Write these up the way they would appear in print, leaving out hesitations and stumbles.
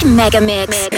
Mega Mix.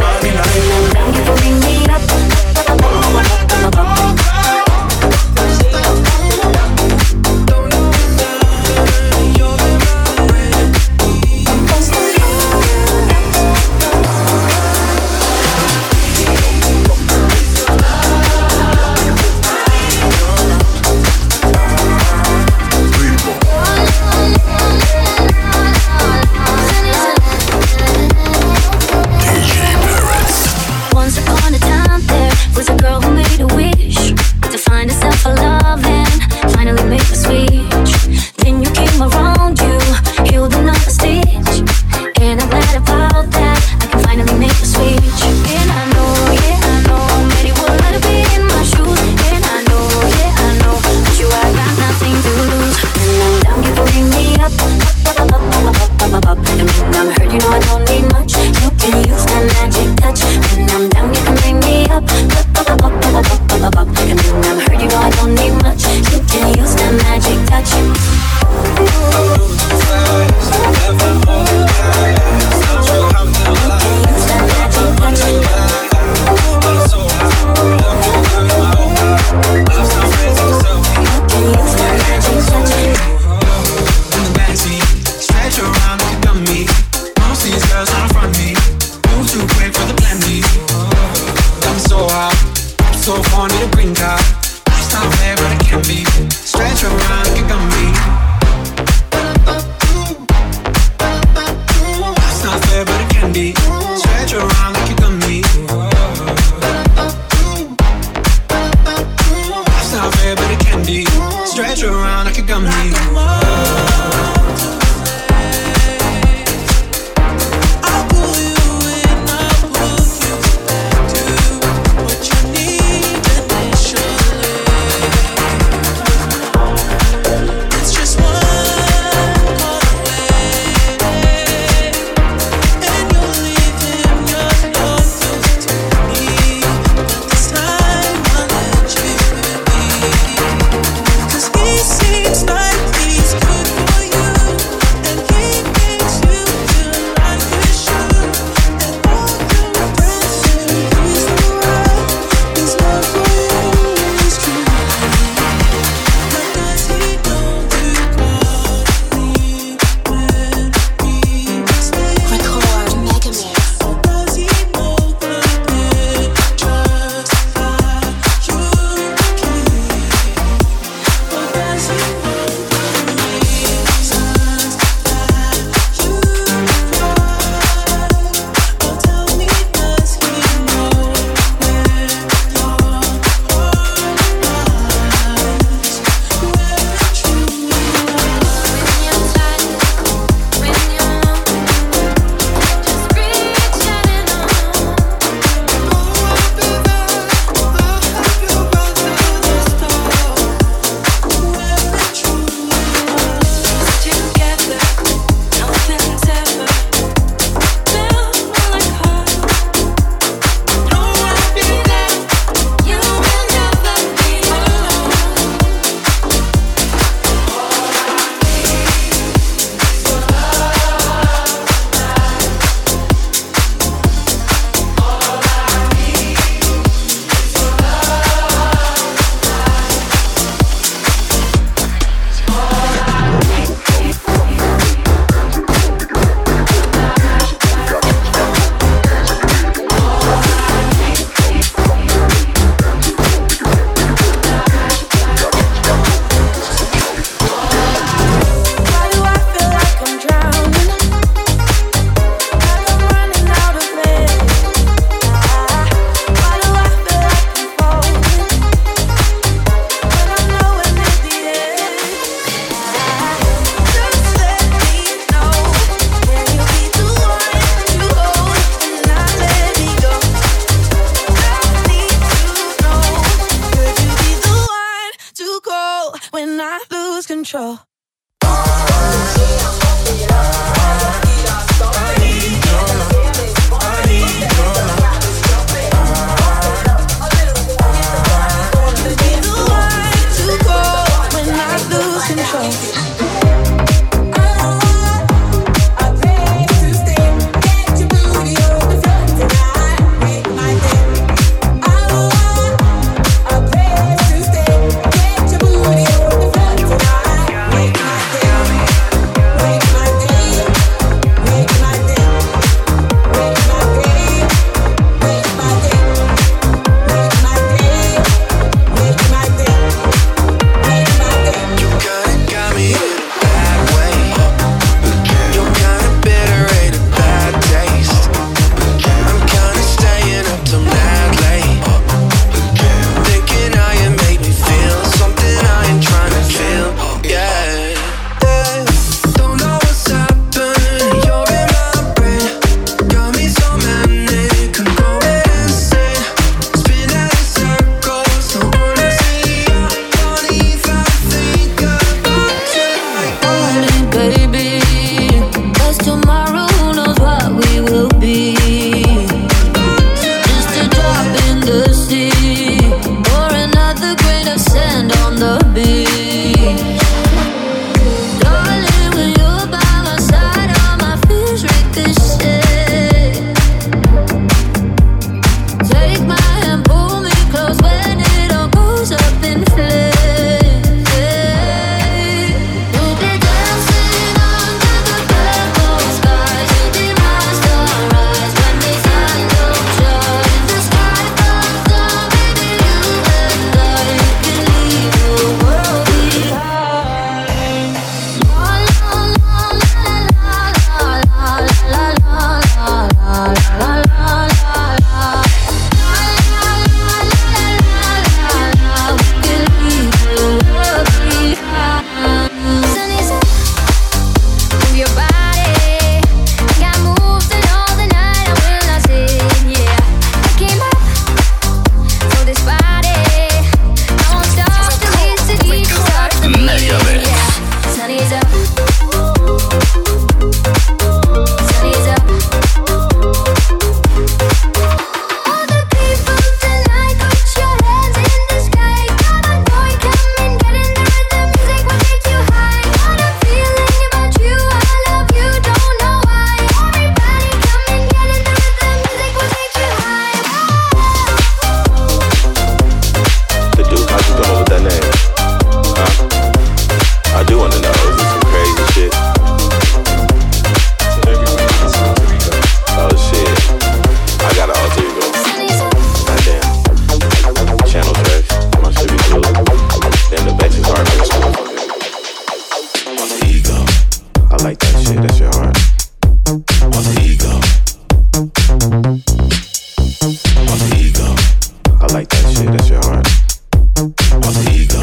control. Control. I like that shit, that's your heart. Alter ego. Alter ego. I like that shit, that's your heart. Alter ego.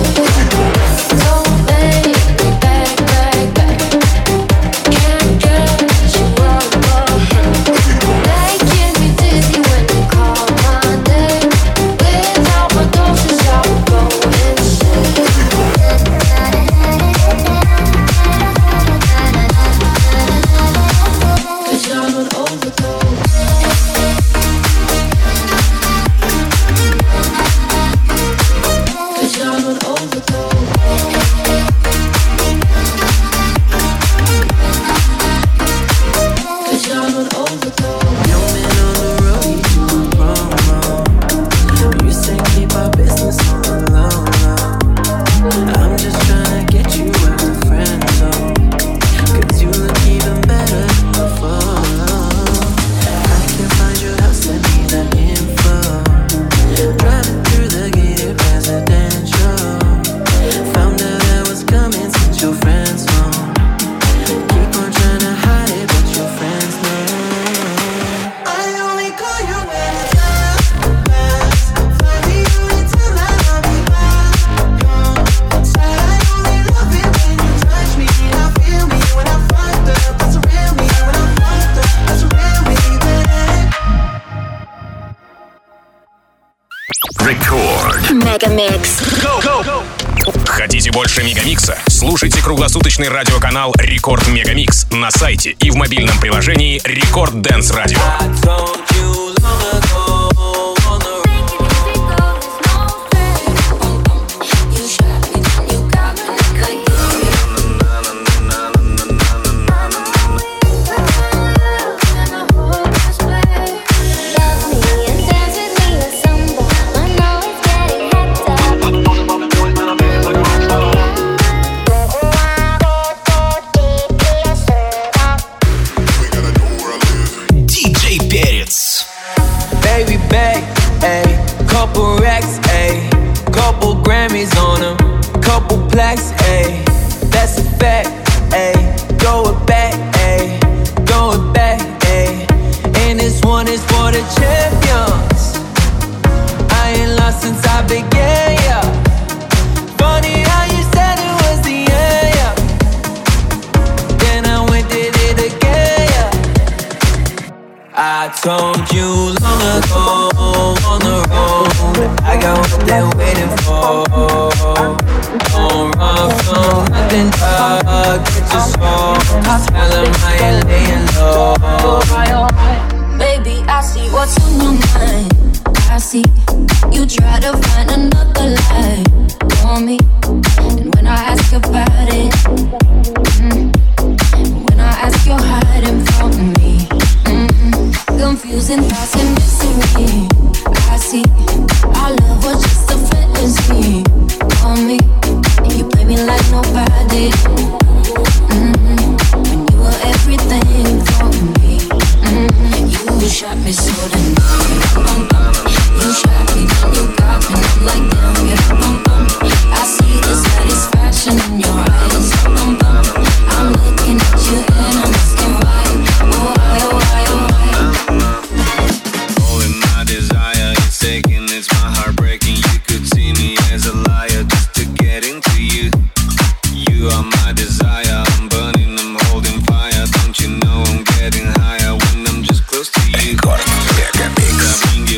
Can't get Хотите больше Мегамикса? Слушайте круглосуточный радиоканал Рекорд Мегамикс на сайте и в мобильном приложении Рекорд Dance Radio. Told you long ago on the road, I got what they're waiting for. Don't run from nothing, dog. Get your soul. Tell them how you're laying low. Baby, I see what's on your mind. I see you try to find another lie for me. And when I ask about it, when I ask, you're hiding from me. Confusing thoughts and mystery. I see our love was just a fantasy for me. And you play me like nobody. When you were everything for me. You shot me so then. You shot me, then you got me. I'm like damn, yeah. I see the satisfaction in your eyes. I'm looking at you and I'm asking why. Why, why, why? Taking, it's my heart breaking. You could see me as a liar just to get into you. You are my desire. I'm burning, I'm holding fire. Don't you know I'm getting higher when I'm just close to you?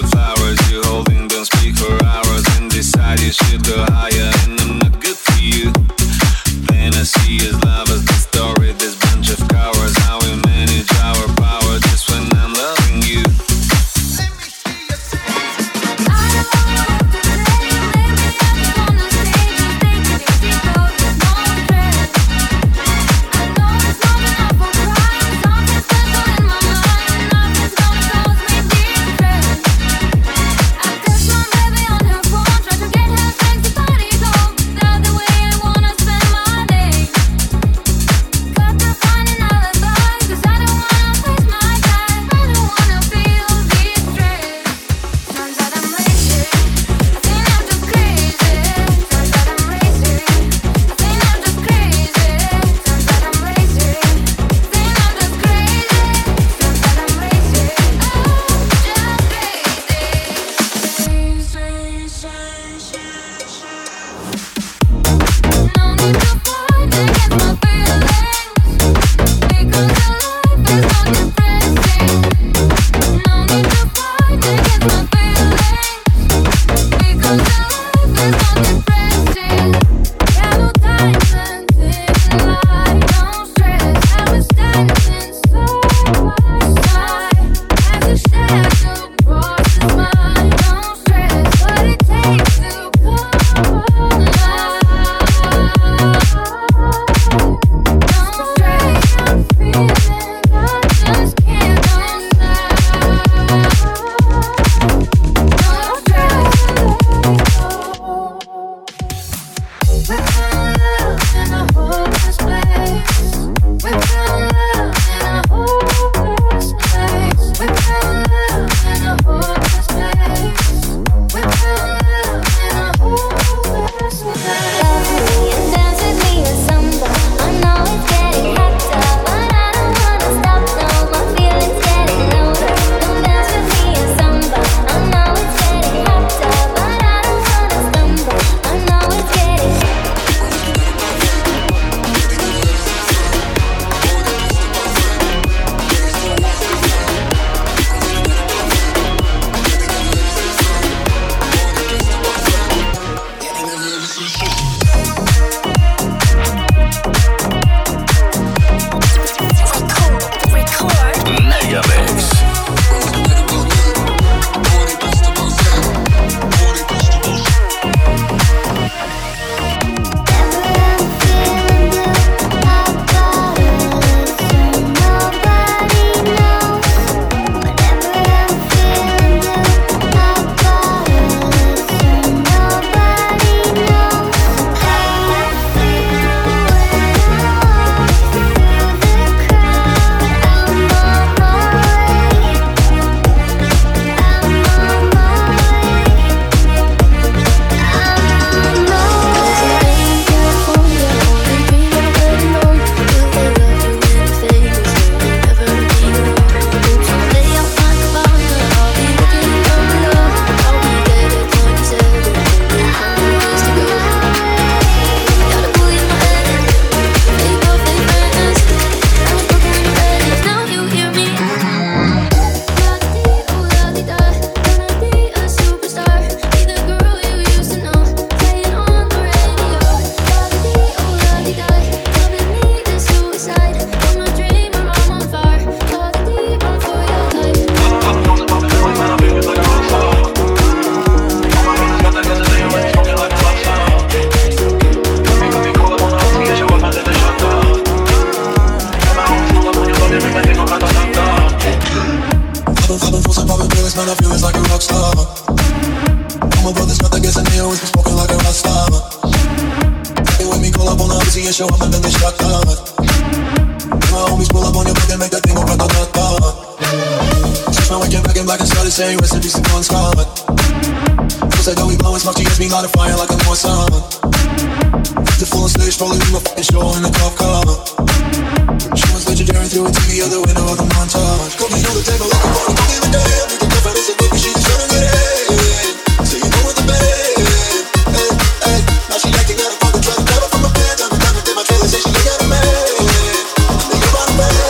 Clubbing full, some popping pills, man, I feel it's like a rock star. All my brothers got the gas and they always be smoking like a rock star. Fucking with me, call up on the Uzi and show up and then they shot down. My homies pull up on your back and make that thing go grata-ta-ta. Since when we came back in black and started saying recipes to Bon Scott. Feels like that we blowing smoke, GS, me light a fire like a more sun. The full on stage, probably do my fucking show in a cop car. She was legendary through a TV, other window of the montage. Cooking on the table like a party, don't give a damn. You can confidence and baby, she just tryna get in. So you know what the bad. Hey, hey, now she acting out of pocket, trying to grab it from my pants. I'm diamond in my trailer, say she ain't got a man. Think about a man.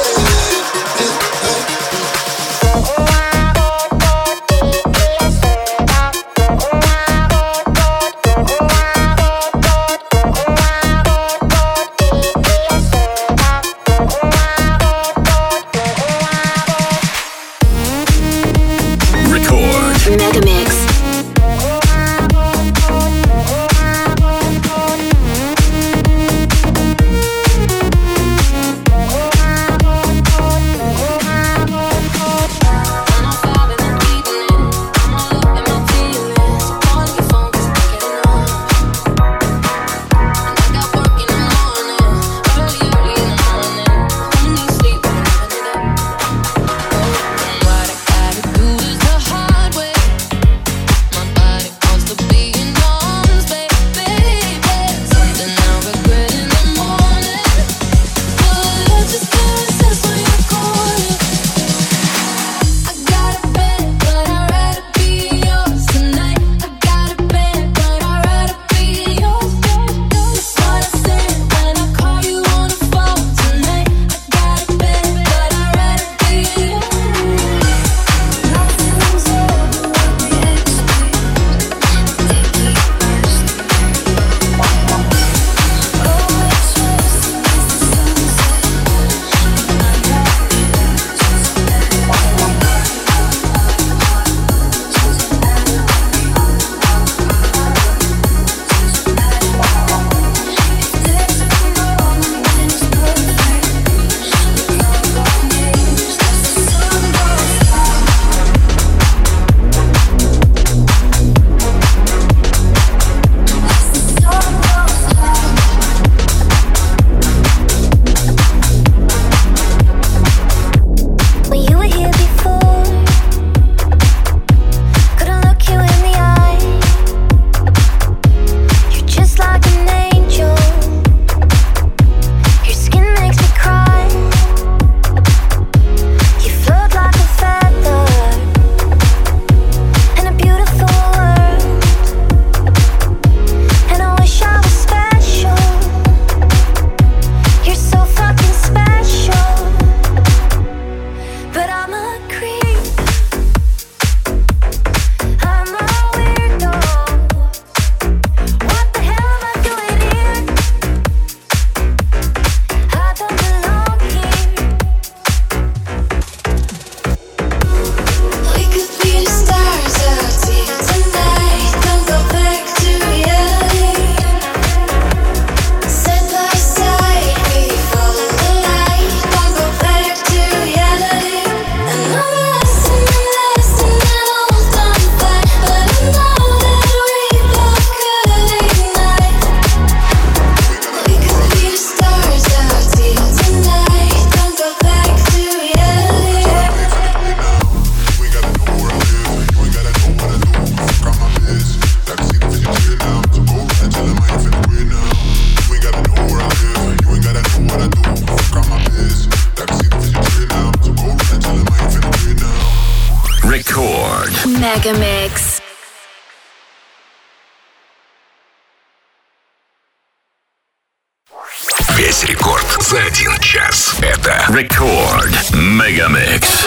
Megamix. Весь рекорд за 1 час. Это Рекорд Мегамикс.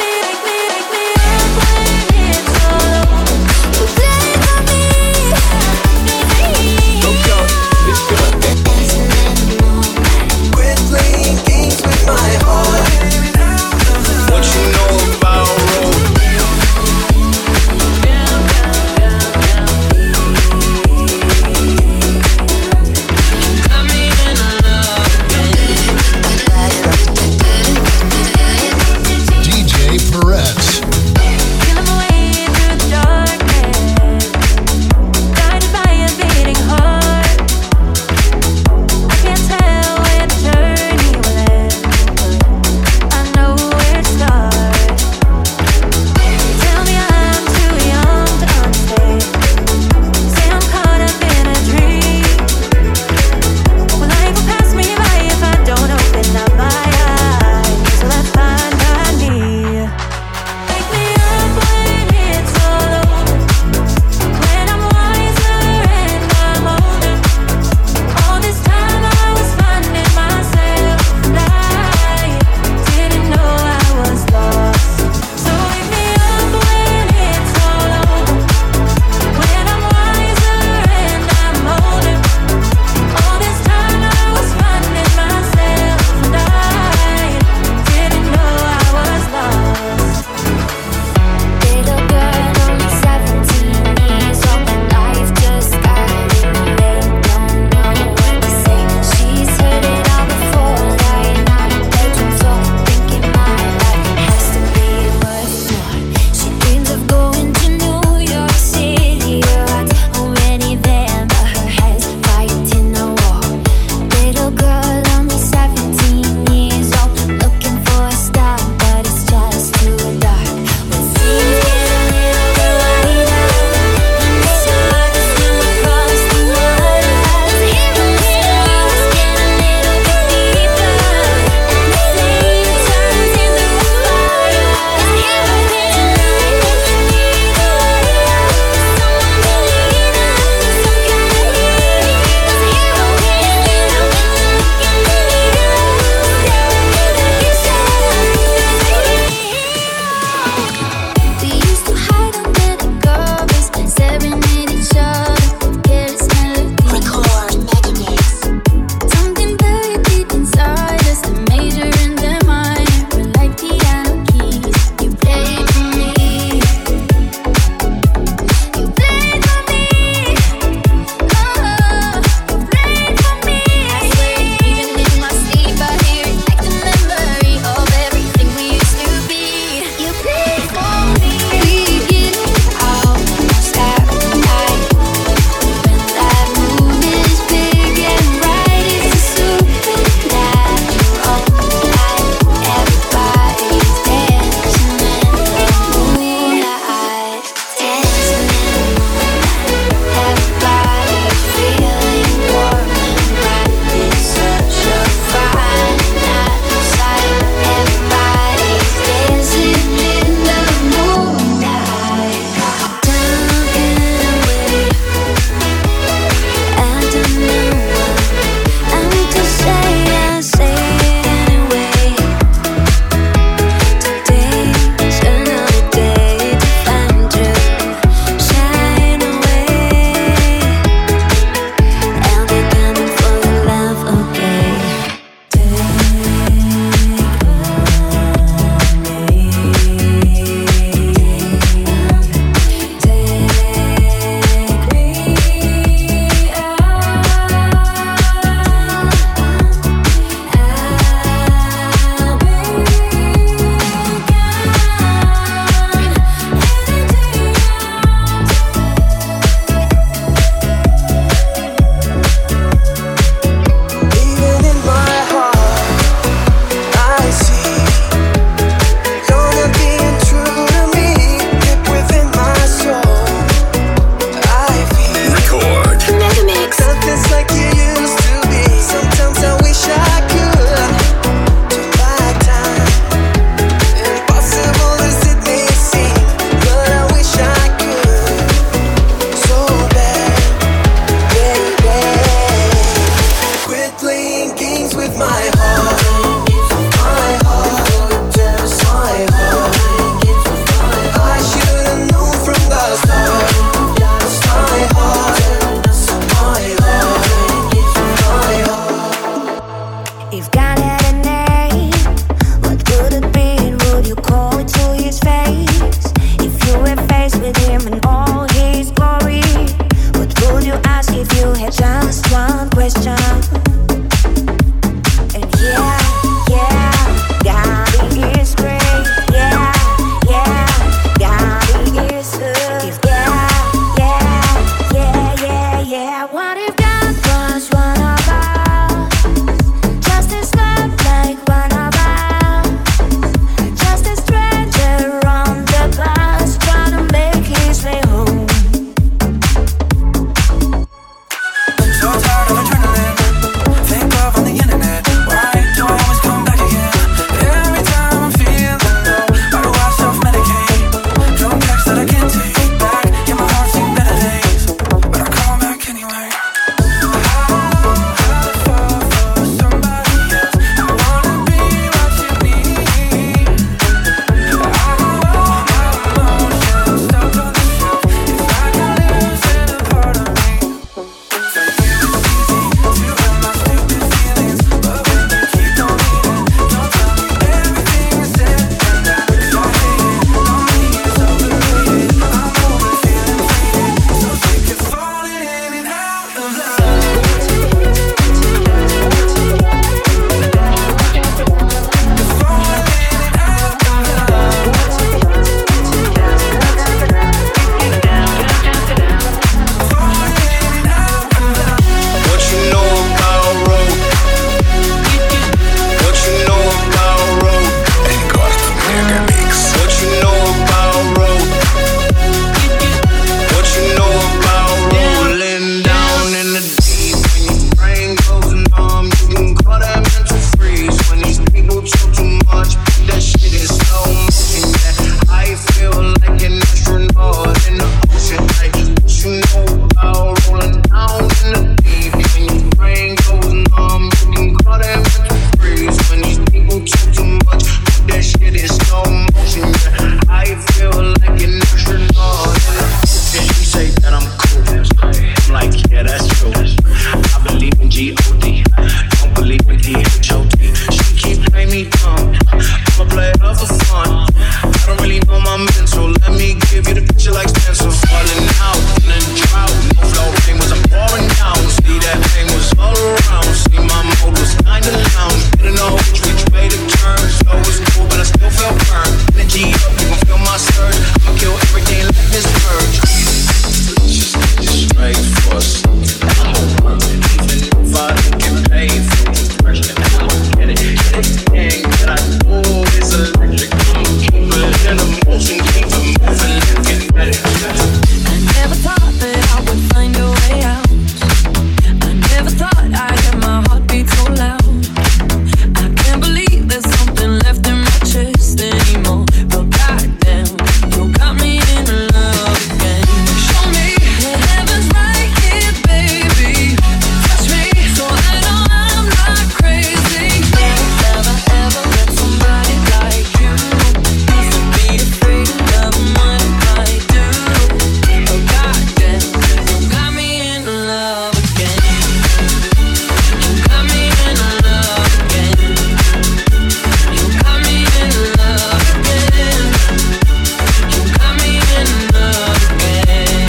like Spencer falling out in a drought. No flow rain was pouring down. See that thing was all around. See my mode was kinda lounge. Didn't know which way to turn. So it was cool, but I still felt burned. Energy up, you gon' feel my surge. I'ma kill everything like this purge. Just straight for something. Even if I don't get paid for the pressure, I don't get it. Anything that I do is electric. I'm keeping in a motion, keep it moving, get ready. I never thought that I would find a way out. I never thought I'd hear my heartbeat so loud. I can't believe there's something left in my chest anymore. But goddamn, you got me in love again. Show me that heaven's right here, baby. Touch me so I know I'm not crazy. Never ever met somebody like you. Used to be afraid of love and what it might do. But goddamn, you got me in love again. You got me in love again. You got me in love again. You got me in love again.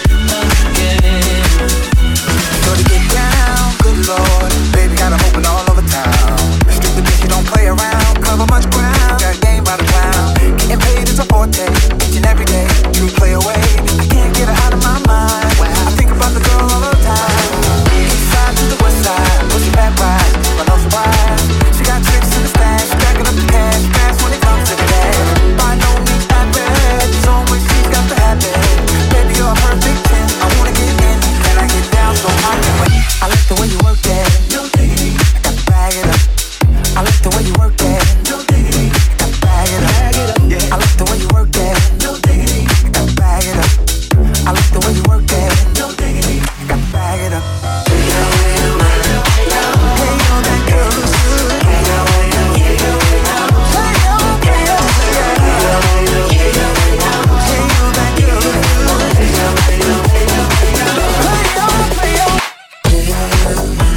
Shorty get down, good lord. Baby got 'em open all over town. Strictly bitch, you don't play around. Cover much ground, got game by the pound. Getting paid is a forte, each and every day. True play away, I can't get her out of my mind. I think about the girl all the time. East side to the west side, push it back right, but no surprise. She got tricks in the stash, stacking up the cash, fast when it comes to the dash. By no means that bad, it's always she's got the habit. Baby, you're a perfect 10, I wanna get in, and I get down so I can wait. I like the way you work that, no diggity, I got to bag it up. I like the way you work that, no diggity, I got to bag it up. I like the way you work that, no diggity, I got to bag it up. I like the way you work that, no diggity, I got to bag it up. Hey, yo, that girl looks good. Hey, yo, hey, yo, hey, yo, hey, yo, hey, yo, that girl looks good. Hey, yo, hey, yo, hey, yo, hey, yo, hey, yo.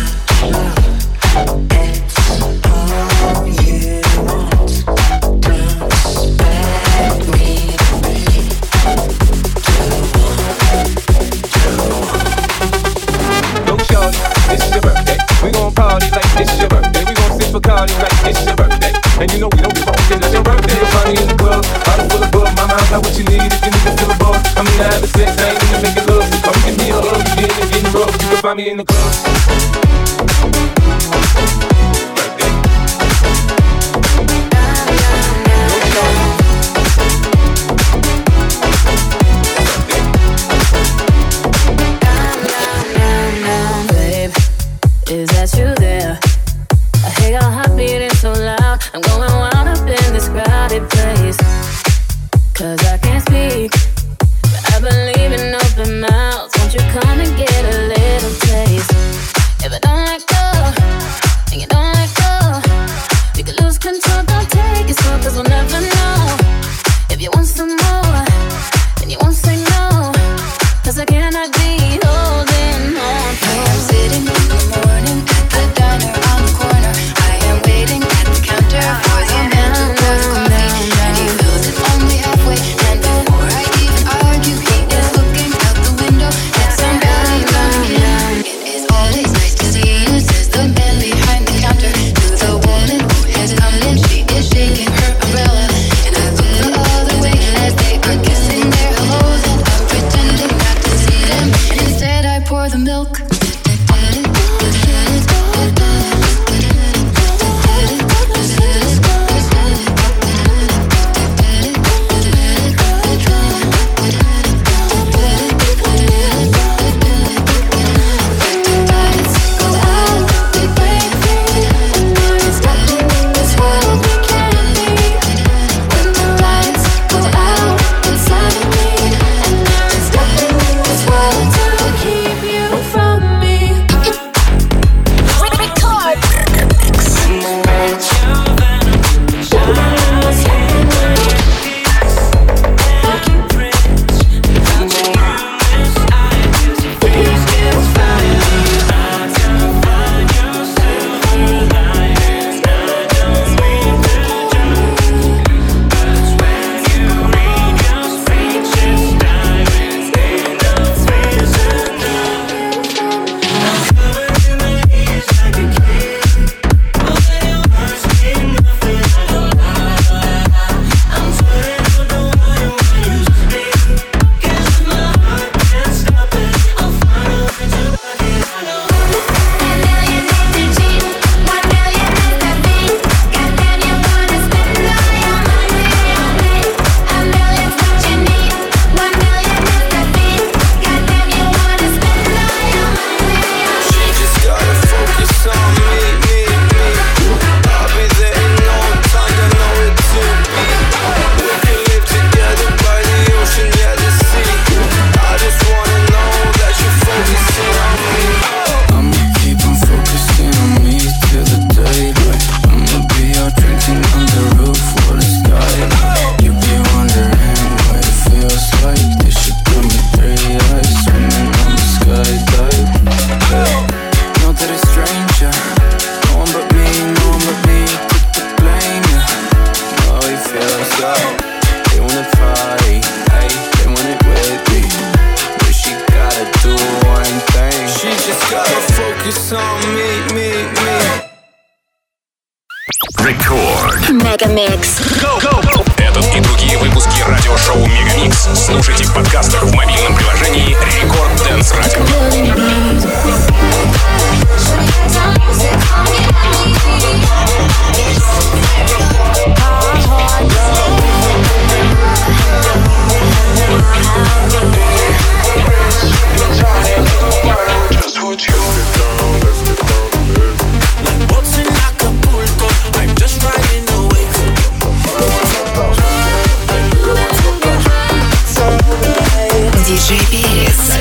Go shorty, it's your birthday. We gon' party like it's your birthday. We gon' sip Bacardi like it's your birthday. And you know we don't give up, it's your birthday. You'll find me in the club, bottle full of bug. My mind got what you need if you need to feel a buzz. I'm in the having sex, I ain't in the making love. So come give me a hug, you getting rough. You can find me in the club. Birthday. Go shorty. Babe, is that you there? I hear your heart beating so loud. I'm going wild up in this crowded place. 'Cause I can't speak, but I believe in open mouths. Won't you come and get a little taste? If I don't let go, and you don't let go, you can lose control, don't take it slow. 'Cause we'll never know. If you want some more, then you won't say no. 'Cause I cannot be holding on. I am sitting in the morning at the diner on the corner. I am waiting at the counter for the man to pour the coffee, and he fills it only halfway. And before I even argue, he is looking out the window at somebody coming in. It is always nice to see you. Рекорд. Мегамикс. Этот и другие выпуски радиошоу Мегамикс слушайте в подкастах в мобильном приложении Рекорд Dance Radio. DJ Перец.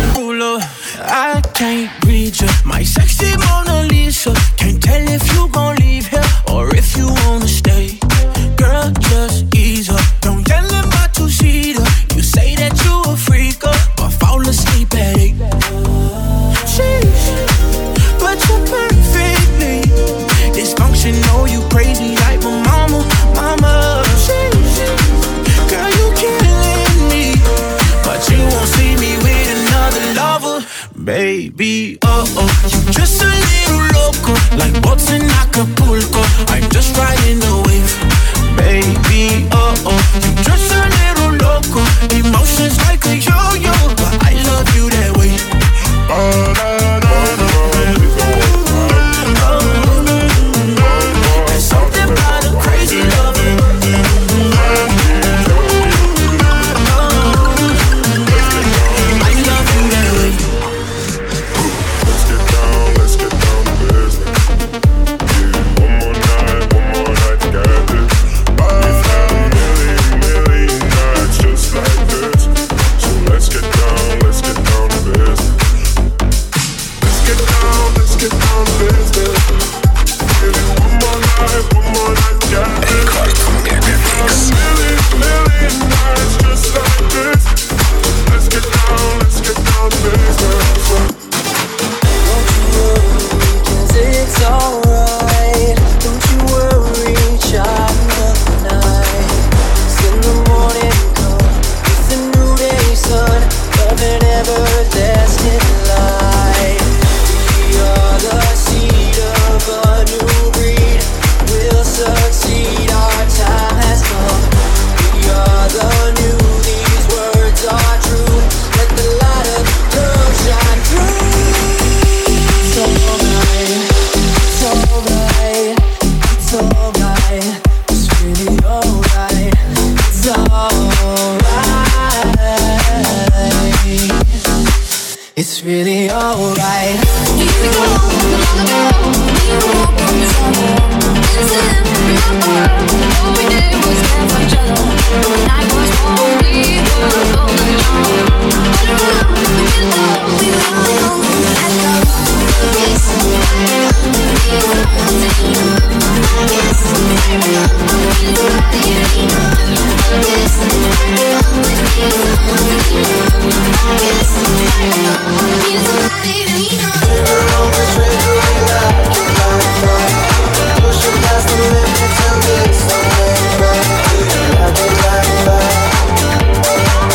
I can't read you, my sexy Mona Lisa. Can't tell if you gon' leave here or if you wanna stay. Girl, just ease up, don't yell in my two-seater. You say that you a freaker, but fall asleep at 8. Sheesh, but you're perfectly dysfunctional, you crazy like my mama. Sheesh, girl, you killing me, but you won't see me with another lover. Baby, you just a little loco, like boats in Acapulco. I'm just riding the wave. Baby, you just a little loco, emotions like a yo-yo, but I love you that way. There's something about a crazy lover. I love you that way. Let's get down to business. Yeah, one more night together. 5 million nights just like this. So let's get down to business. Let's get down to business. Baby, one more night together. Рекорд Мегамикс. Million nights just like this. Let's get down to business. It's alright, don't you worry, child of the night. It's in the morning come, it's a new day, sun, love and everlasting light. We are the seed of a new breed, we'll succeed, our time has come. We are the new, these words are true, let the light of love shine through. It's alright, it's alright, it's alright, it's really alright, it's alright, it's really alright. Here we go, we won't put this on. This is all we did was care for each other. The night was long, we were golden young. Pushing past the limits of this, so right. I've been lying back.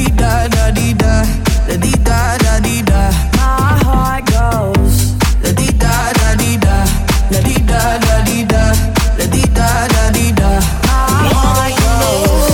dee da da dee da, da dee da da dee da. My heart goes la dee da da dee da, la dee da da dee da, la dee da da dee da. My heart goes.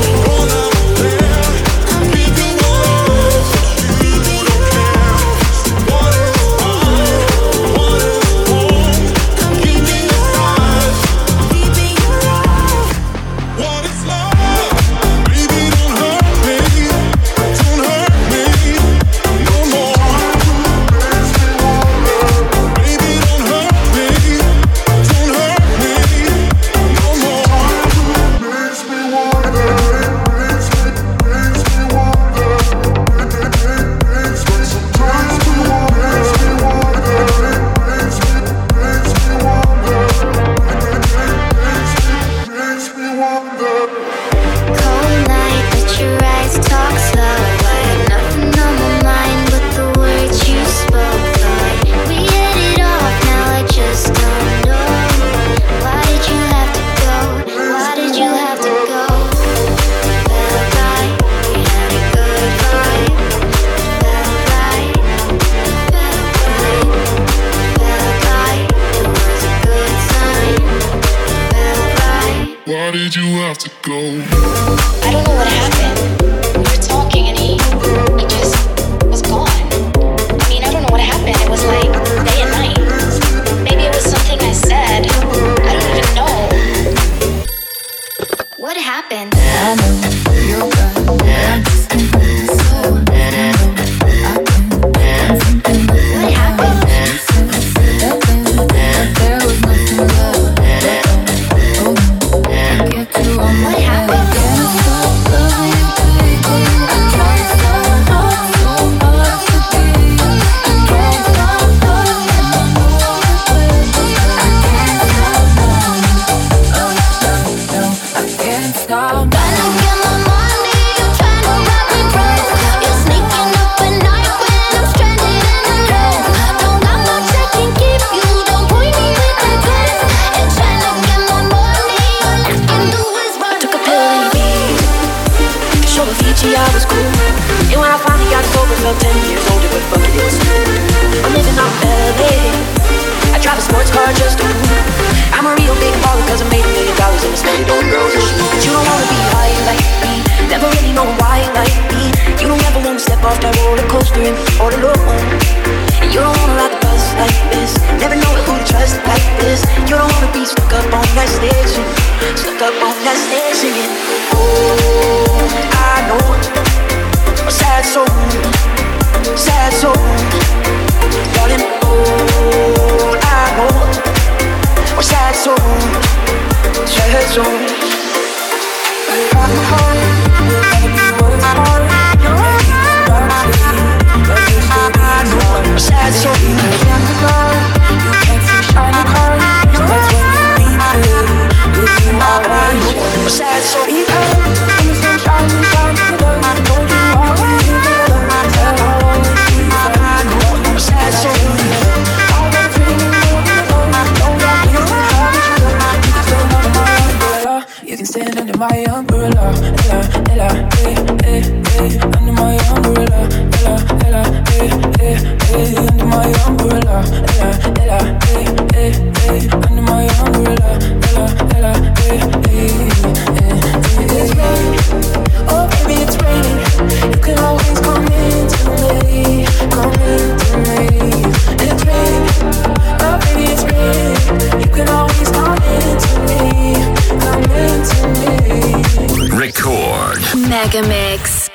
Why did you have to go? I don't know what happened. We were talking and he just was gone. I mean, I don't know what happened. It was like day and night. Maybe it was something I said. I don't even know. What happened? I know you're gone, but I'm just so what happened? There was nothing left. What happened? I was cool, and when I finally got sober, felt 10 years older, but fuck it, it was cool. I'm living out in LA, I drive a sports car just to prove I'm a real big baller, cause I made $1 million in a steady door girls and shoes. But you don't wanna be high like me, never really know why like me. You don't ever wanna step off that roller coaster and all alone. And you don't wanna ride the bus like this, never know who to trust like this. You don't wanna be stuck up on that station, stuck up on that stage singing. Oh, I know a sad soul, darling. Oh, I know a sad soul. Got my heart, you'll never be worth more. I know a sad soul. You can't see shiny cars, that's when you need me. If you are I know a sad soul. You can stand under my umbrella, Ella, Ella, under my umbrella, Ella, Ella, under my umbrella, Ella, Ella, under my umbrella, Ella, Ella, It's raining, oh baby it's raining. You can always come into me, It's raining, oh baby it's raining. You can always come into me, Record Mega Mix.